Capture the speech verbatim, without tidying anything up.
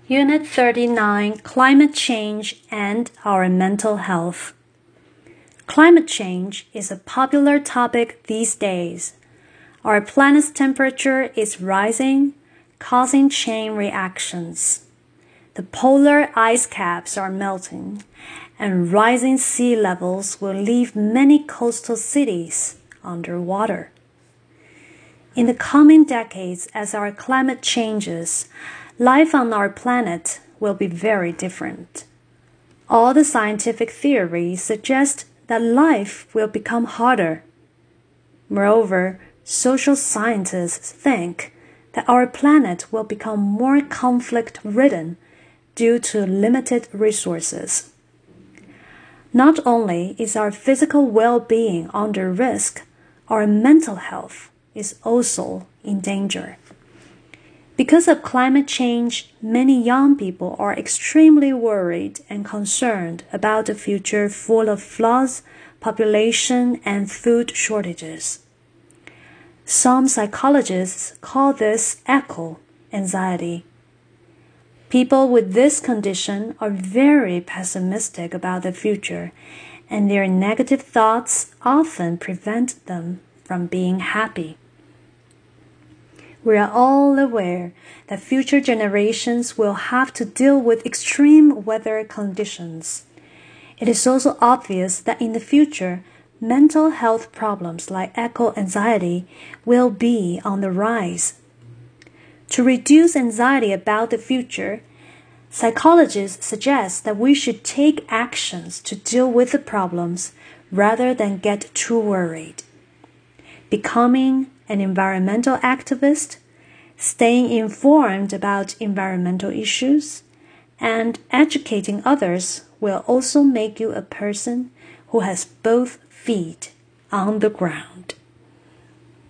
Unit thirty-nine, Climate Change and Our Mental Health. Climate change is a popular topic these days. Our planet's temperature is rising, causing chain reactions. The polar ice caps are melting, and rising sea levels will leave many coastal cities underwater. In the coming decades, as our climate changes, life on our planet will be very different. All the scientific theories suggest that life will become harder. Moreover, social scientists think that our planet will become more conflict-ridden due to limited resources. Not only is our physical well-being under risk, our mental health is also in danger. Because of climate change, many young people are extremely worried and concerned about a future full of floods, population, and food shortages. Some psychologists call this eco-anxiety. People with this condition are very pessimistic about the future, and their negative thoughts often prevent them from being happy. We are all aware that future generations will have to deal with extreme weather conditions. It is also obvious that in the future, mental health problems like eco-anxiety will be on the rise. To reduce anxiety about the future, psychologists suggest that we should take actions to deal with the problems rather than get too worried. Becoming an environmental activist, staying informed about environmental issues, and educating others will also make you a person who has both feet on the ground.